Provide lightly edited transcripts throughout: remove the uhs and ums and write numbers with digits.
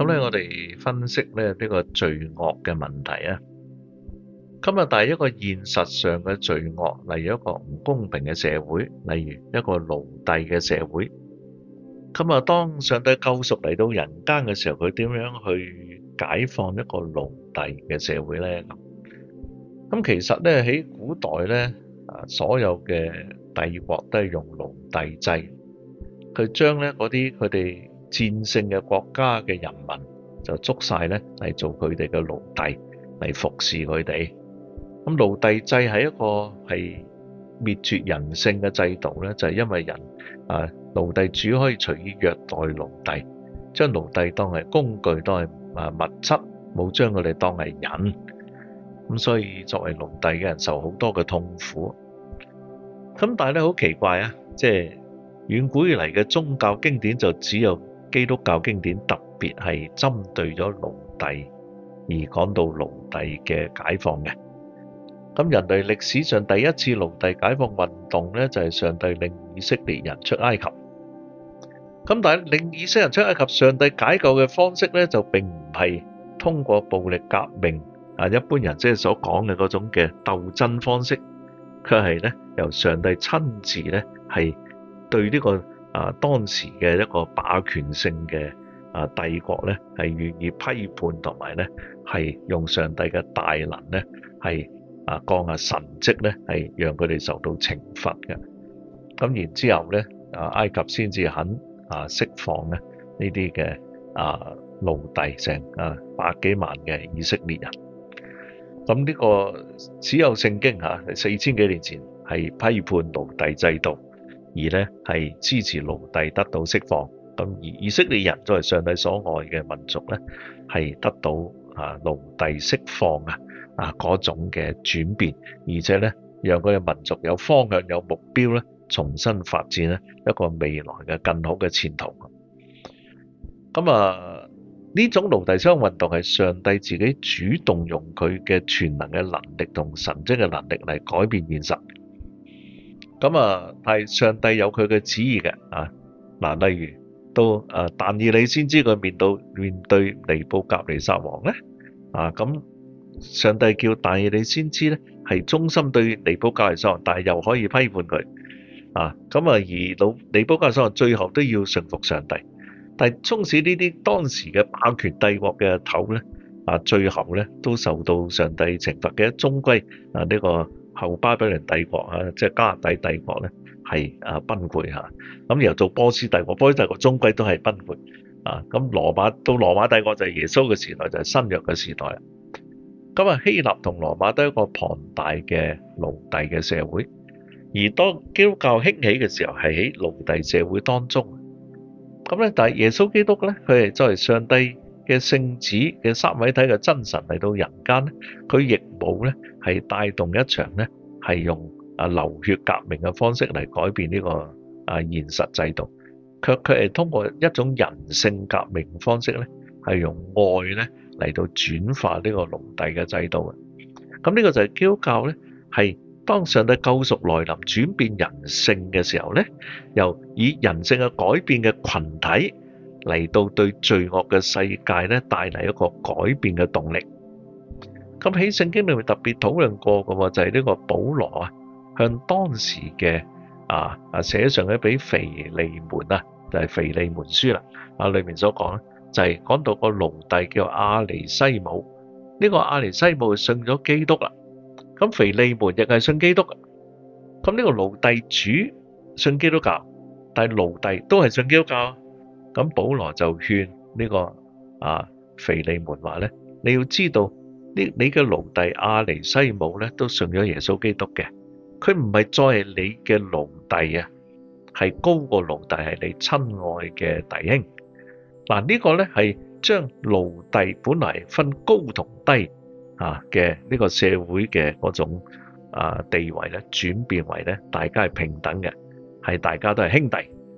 咁咧，我哋分析咧呢個罪惡嘅問題啊。今日但係一個現實上嘅罪惡，例如一個唔公平嘅社會，例如一個奴隸嘅社會。咁啊，當上帝救贖嚟到人間嘅時候，佢點樣去解放一個奴隸嘅社會咧？咁其實咧喺古代咧，所有嘅帝國都係用奴隸制，佢將咧嗰啲佢哋戰勝嘅國家嘅人民就捉晒咧嚟做佢哋嘅奴隸嚟服侍佢哋。咁奴隸制係一個係滅絕人性嘅制度咧，就係因為人奴隸主可以隨意虐待奴隸，將奴隸當係工具，當係物質，冇將佢哋當係人。咁所以作為奴隸嘅人受好多嘅痛苦。咁但係咧好奇怪啊，即係遠古以嚟嘅宗教經典就只有基督教經典特別係針對咗奴隸而講到奴隸嘅解放嘅。咁人類歷史上第一次奴隸解放運動咧，就係上帝領以色列人出埃及。咁但係領以色列人出埃及，上帝解救嘅方式咧，就並唔係通過暴力革命一般人即係所講嘅嗰種嘅鬥爭方式，佢係咧由上帝親自咧係對呢個當時嘅一個霸權性嘅帝國咧係予以批判，同埋咧係用上帝嘅大能咧係降下神蹟咧，係讓佢哋受到懲罰嘅。咁然之後咧，埃及先至肯釋放咧呢啲嘅奴隸，成百幾萬嘅以色列人。咁呢個只有聖經4000幾年前係批判奴隸制度，而咧係支持奴隸得到釋放。咁而以色列人作為上帝所愛嘅民族咧，係得到奴隸釋放嗰種嘅轉變，而且咧讓佢嘅民族有方向、有目標咧，重新發展咧一個未來嘅更好嘅前途。咁呢種奴隸釋放運動係上帝自己主動用佢嘅全能嘅能力同神蹟嘅能力嚟改變現實。咁係上帝有佢嘅旨意嘅例如到但以理先知佢面對尼布甲尼撒王咧咁。上帝叫但以理先知咧，係忠心對尼布甲尼撒王，但係又可以批判佢而尼布甲尼撒王最後都要順服上帝。但係縱使呢啲當時嘅霸權帝國嘅頭咧最後咧都受到上帝懲罰嘅，終歸呢個後巴比倫帝國即係迦勒底帝國咧係崩潰咁又做波斯帝國，波斯帝國終歸都係崩潰咁羅馬帝國就係耶穌嘅時代，就係新約嘅時代啦。咁希臘同羅馬都係一個龐大嘅奴隸嘅社會，而當基督教興起嘅時候係喺奴隸社會當中。咁咧，但係耶穌基督咧，佢係作為上帝嘅聖子嘅三位體嘅真神嚟到人間咧，佢亦冇咧係帶動一場咧係用流血革命嘅方式嚟改變呢個現實制度，佢係通過一種人性革命方式咧，係用愛咧嚟到轉化呢個奴隸嘅制度。咁呢個就係基督教咧，係當上帝救贖來臨轉變人性嘅時候咧，又以人性嘅改變嘅群體嚟到對罪惡嘅世界咧帶嚟一個改變嘅動力。咁喺聖經裏面特別討論過嘅就係呢個保羅向當時嘅寫上嘅俾腓利門就係腓利門書啦裏面所講咧，就係講到個奴隸叫阿尼西姆，呢個阿尼西姆信咗基督啦。咁腓利門亦係信基督，咁呢個奴隸主信基督教，但係奴隸都係信基督教。咁保羅就勸呢個腓利門話咧，你要知道你嘅奴隸阿尼西姆咧都信咗耶穌基督嘅，佢唔係再係你嘅奴隸係高過奴隸，係你親愛嘅弟兄。呢個咧係將奴隸本來分高同低嘅呢個社會嘅嗰種地位咧，轉變為咧大家係平等嘅，係大家都係兄弟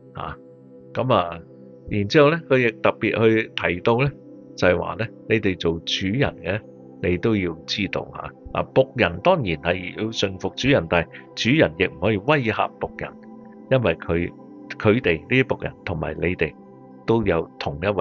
然之後咧，佢亦特別去提到咧，就係話咧，你哋做主人嘅，你都要知道僕人當然係要順服主人，但係主人亦唔可以威嚇僕人，因為佢哋呢啲僕人同埋你哋都有同一位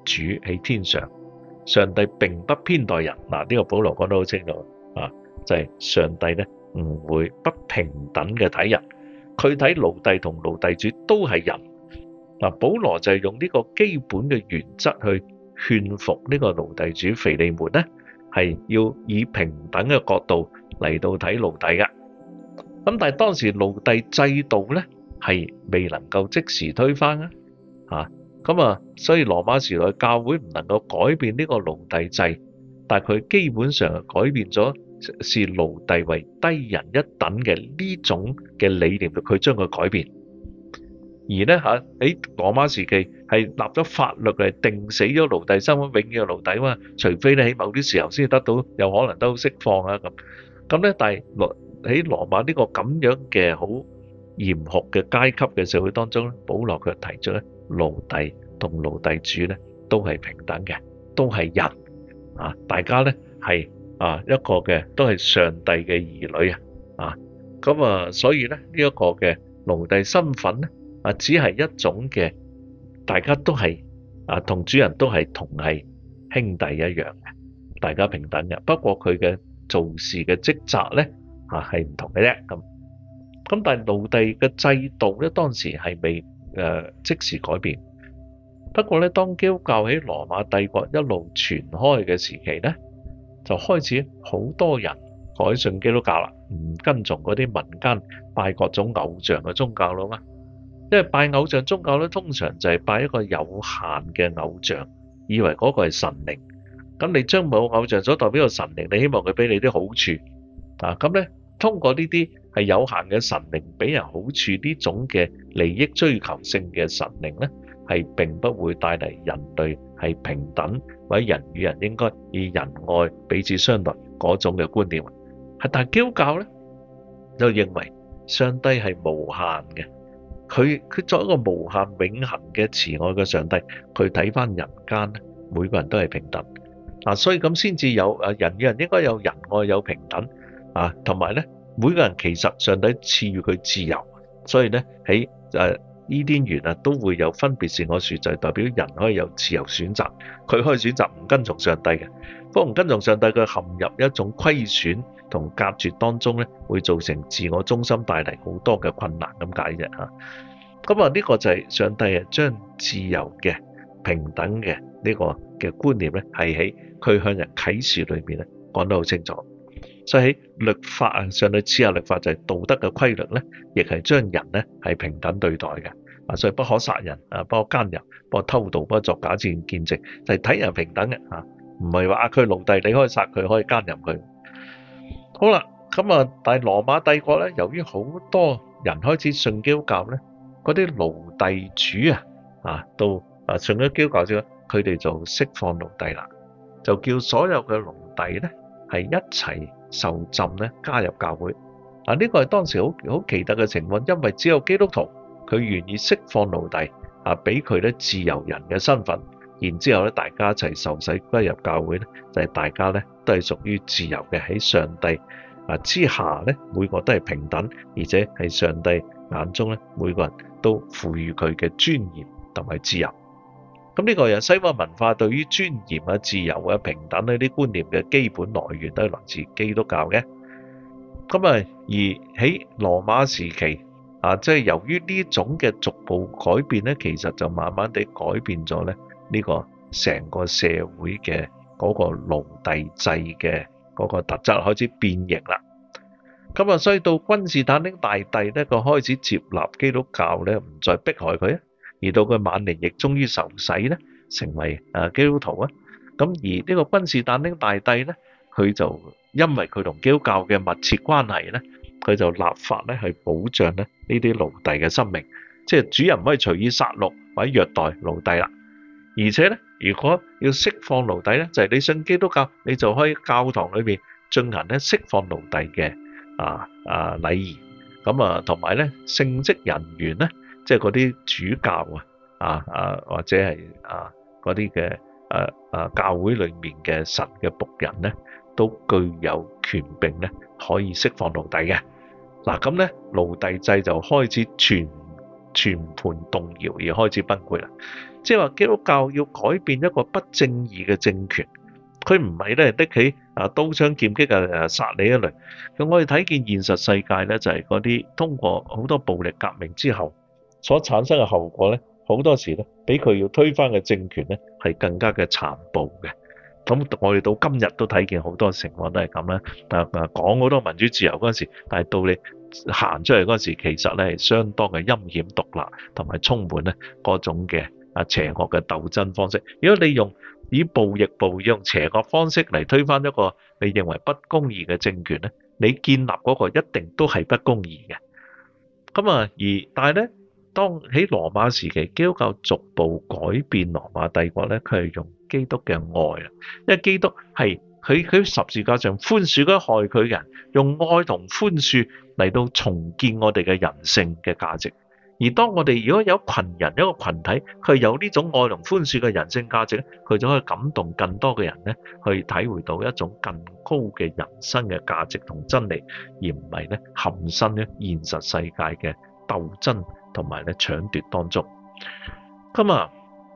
主喺天上，上帝並不偏待人。嗱，呢個保羅講得好清楚啊，就係上帝咧唔會不平等嘅睇人，佢睇奴隸同奴隸主都係人。嗱，保羅就係用呢個基本嘅原則去勸服呢個奴隸主腓利門咧，係要以平等嘅角度嚟到睇奴隸嘅。咁但係當時奴隸制度咧係未能夠即時推翻啊，咁啊，所以羅馬時代教會唔能夠改變呢個奴隸制，但係佢基本上係改變咗視奴隸為低人一等嘅呢種嘅理念，佢將佢改變。而咧喺羅馬時期係立咗法律嚟定死咗奴隸身份，永遠嘅奴隸嘛，除非你喺某啲時候先得到，有可能都釋放啊咁咧。但係喺羅馬呢個咁樣嘅好嚴酷嘅階級嘅社會當中咧，保羅卻提出咧，奴隸同奴隸主咧都係平等嘅，都係人啊，大家咧係一個嘅都係上帝嘅兒女啊，咁啊，所以咧呢一個嘅奴隸身份咧只係一種嘅，大家都係同主人都係同係兄弟一樣嘅，大家平等嘅。不過佢嘅做事嘅職責咧係唔同嘅啫咁但係奴隸嘅制度咧當時係未即時改變。不過咧，當基督教喺羅馬帝國一路傳開嘅時期咧，就開始好多人改信基督教啦，唔跟從嗰啲民間拜各種偶像嘅宗教啦嘛。因為拜偶像宗教咧，通常就係拜一個有限嘅偶像，以為嗰個係神靈。咁你將某偶像所代表嘅神靈，你希望佢俾你啲好處咁咧，通過呢啲係有限嘅神靈俾人好處呢種嘅利益追求性嘅神靈咧，係並不會帶嚟人類係平等或者人與人應該以仁愛彼此相待嗰種嘅觀念。但係基督教咧就認為上帝係無限嘅。佢作為一個無限永恆嘅慈愛嘅上帝，佢睇翻人間咧，每個人都係平等所以咁先至有人與人應該有仁愛有平等同埋咧每個人其實上帝賜予佢自由，所以咧喺伊甸園都會有分別善惡樹，就係代表人可以有自由選擇，佢可以選擇唔跟從上帝嘅，不過唔跟從上帝佢陷入一種虧損同隔絕當中咧，會造成自我中心，帶嚟好多嘅困難咁解啫嚇。咁呢個就係上帝將自由嘅平等嘅呢個嘅觀念咧，係喺佢向人啟示裏面咧講得好清楚。所以喺律法上帝賜下律法就係道德嘅規律咧，亦係將人咧係平等對待嘅。所以不可殺人不可奸淫，不可偷盜，不可作假見證，就係睇人平等嘅唔係話佢奴隸你可以殺佢，可以奸淫佢。好啦，咁但係羅馬帝國咧，由於好多人開始信基督教咧，嗰啲奴隸主到信咗基督教之後，佢哋就釋放奴隸啦，就叫所有嘅奴隸咧係一齊受浸咧加入教會。呢個係當時好奇特嘅情況，因為只有基督徒佢願意釋放奴隸俾佢咧自由人嘅身份，然之後咧大家一齊受洗加入教會咧，就係大家咧都係屬於自由嘅，喺上帝之下咧每個都係平等，而且係上帝眼中咧每個人都賦予佢嘅尊嚴同埋自由。咁呢個係西方文化對於尊嚴自由平等呢啲觀念嘅基本來源都係來自基督教嘅。咁而喺羅馬時期即係由於呢種嘅逐步改變咧，其實就慢慢地改變咗咧呢個成個社會嘅嗰個奴隸制嘅嗰個特質開始變形啦。咁所以到君士坦丁大帝咧，佢開始接納基督教咧，唔再迫害佢，而到佢晚年亦終於受洗咧，成為基督徒啊。咁而呢個君士坦丁大帝咧，佢就因為佢同基督教嘅密切關係咧，佢就立法咧去保障咧呢啲奴隸嘅生命，即係主人唔可以隨意殺戮或者虐待奴隸啦。而且咧，如果要釋放奴隸咧，就係你信基督教，你就可以教堂裏邊進行咧釋放奴隸嘅禮儀。咁同埋咧聖職人員咧，即係嗰啲主教或者係嗰啲嘅教會裏面嘅神嘅僕人咧，都具有權柄咧，可以釋放奴隸嘅。咁咧奴隸制就開始全盤動搖而開始崩潰啦。即係話基督教要改變一個不正義嘅政權，佢唔係咧拎起刀槍劍戟殺你一類。咁我哋睇見現實世界咧，就係嗰啲通過好多暴力革命之後所產生嘅後果咧，好多時咧比佢要推翻嘅政權咧係更加嘅殘暴嘅。咁我哋到今日都睇見好多情況都係咁啦。講好多民主自由嗰陣時，但係到你行出嚟嗰陣時，其實咧係相當嘅陰險毒辣，同埋充滿咧嗰種嘅邪惡嘅鬥爭方式。如果你以暴易暴，用邪惡方式嚟推翻一個你認為不公義嘅政權咧，你建立嗰個一定都係不公義嘅。但係咧，當喺羅馬時期，基督教逐步改變羅馬帝國咧，佢係用基督嘅愛啦，因為基督係佢十字架上寬恕嗰害佢嘅人，用愛同寬恕嚟到重建我哋嘅人性嘅價值。而當我哋如果有群人一個群體，佢有呢種愛同寬恕嘅人性價值咧，佢就可以感動更多嘅人咧，去體會到一種更高嘅人生嘅價值同真理，而唔係咧陷身咧現實世界嘅鬥爭同埋咧搶奪當中。咁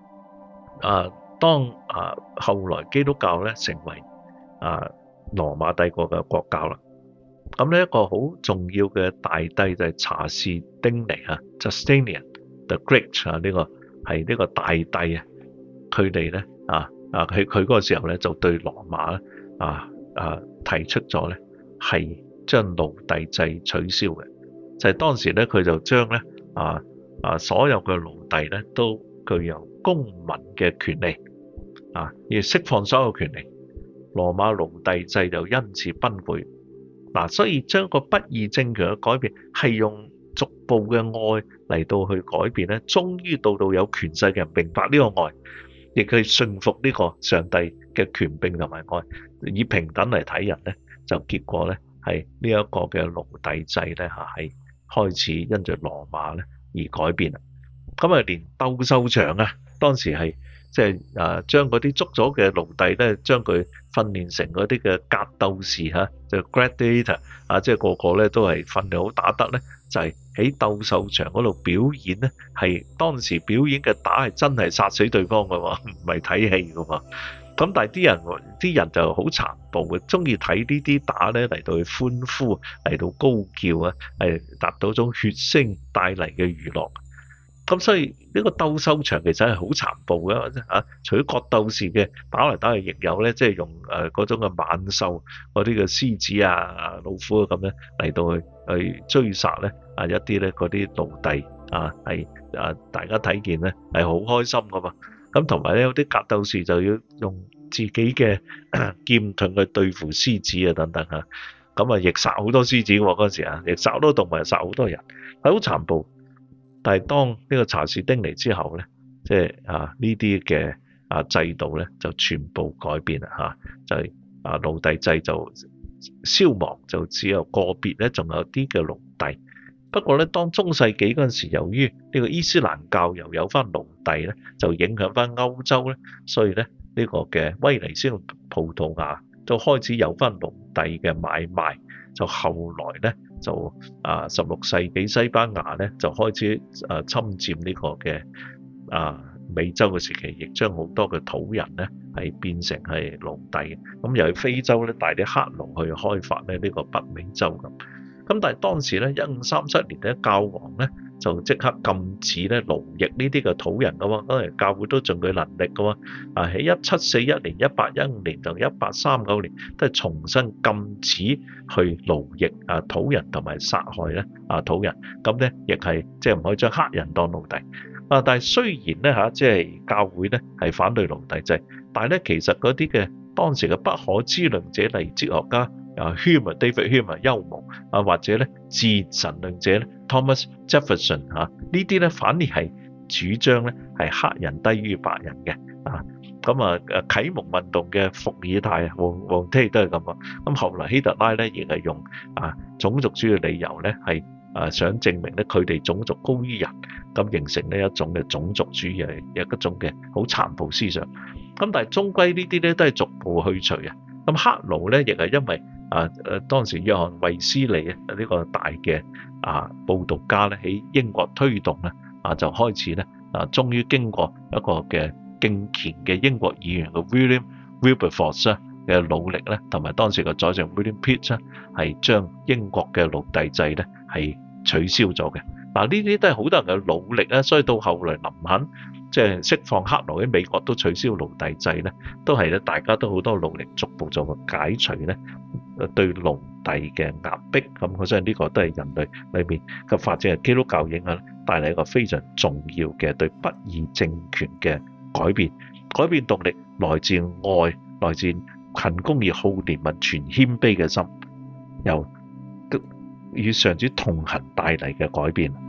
當後來基督教咧成為羅馬帝國嘅國教啦，咁呢一個好重要嘅大帝就係查士丁尼Justinian the Great 呢個係呢個大帝啊，佢哋咧佢嗰個時候咧就對羅馬咧提出咗咧係將奴隸制取消嘅，就係當時咧佢就將咧所有嘅奴隸咧都具有公民嘅權利要釋放所有權利，羅馬奴隸制就因此崩潰。所以將個不義政權嘅改變係用逐步嘅愛嚟到去改變咧，終於到有權勢嘅人明白呢個愛，亦去信服呢個上帝嘅權柄同埋愛，以平等嚟睇人咧，就結果咧係呢一個嘅奴隸制咧係開始因着羅馬咧而改變啦。連鬥獸場當時係即係將嗰啲捉咗嘅奴隸咧，將佢訓練成嗰啲嘅格鬥士就 gladiator 即係個個咧都係訓練好打得咧，就係喺鬥獸場嗰度表演咧，係當時表演嘅打係真係殺死對方㗎喎，唔係睇戲㗎嘛。咁但係啲人就好殘暴嘅，中意睇呢啲打咧嚟到去歡呼，嚟到高叫係達到一種血腥帶嚟嘅娛樂。咁所以呢個鬥獸場其實係好殘暴嘅除咗角鬥士嘅打嚟打去，亦有咧即係用嗰種嘅猛獸嗰啲嘅獅子老虎咁咧嚟到去追殺咧一啲咧嗰啲奴隸係大家睇見咧係好開心噶嘛。咁同埋咧有啲格鬥士就要用自己嘅劍盾去對付獅子等等咁亦殺好多獅子喎嗰陣時亦殺好多動物，殺好多人，係好殘暴。但係當呢個查士丁尼之後咧，即係呢啲嘅制度咧就全部改變啦就係奴隸制就消亡，就只有個別咧仲有啲嘅奴隸。不過咧，當中世紀嗰陣時，由於呢個伊斯蘭教又有翻奴隸咧，就影響翻歐洲咧，所以咧呢個嘅威尼斯同葡萄牙就開始有翻奴隸嘅買賣。就後來咧就16世紀西班牙咧就開始侵佔呢個嘅美洲嘅時期，亦將好多嘅土人咧係變成係奴隸。咁又去非洲咧帶啲黑奴去開發咧呢個北美洲咁。咁但係當時咧1537年咧教皇咧就即刻禁止咧奴役呢啲嘅土人噶嘛，當然教會都盡佢能力噶嘛。喺1741年、1815年同1839年都係重新禁止去奴役土人同埋殺害咧土人。咁咧亦係即係唔可以將黑人當奴隸。但係雖然咧即係教會咧係反對奴隸制，但係咧其實嗰啲嘅當時嘅不可知論者，例如哲學家David Hume 休謨或者咧自然神論者咧 Thomas Jefferson 呢啲咧反而係主張咧係黑人低於白人嘅啟蒙運動嘅伏爾泰王提都係咁講。咁後來希特拉咧亦係用種族主義理由咧係想證明咧佢哋種族高於人，咁形成呢一種嘅種族主義係一種嘅好殘暴思想。咁但係終歸呢啲咧都係逐步去除嘅。咁黑奴咧亦係因為當時約翰衛斯理呢個大嘅佈道家咧喺英國推動咧就開始咧終於經過一個嘅敬虔嘅英國議員嘅 William Wilberforce 嘅努力咧，同埋當時嘅宰相 William Pitt 咧，係將英國嘅奴隸制咧係取消咗嘅。呢啲都係好多人嘅努力啦，所以到後來林肯即係釋放黑奴喺美國都取消奴隸制咧，都係咧大家都好多努力逐步做個解除咧對奴隸嘅壓迫。咁我相信呢個都係人類裏面嘅發展嘅基督教影響帶嚟一個非常重要嘅對不義政權嘅改變。改變動力來自愛，來自勤公義、好憐憫、全謙卑嘅心，由與上主同行帶嚟嘅改變。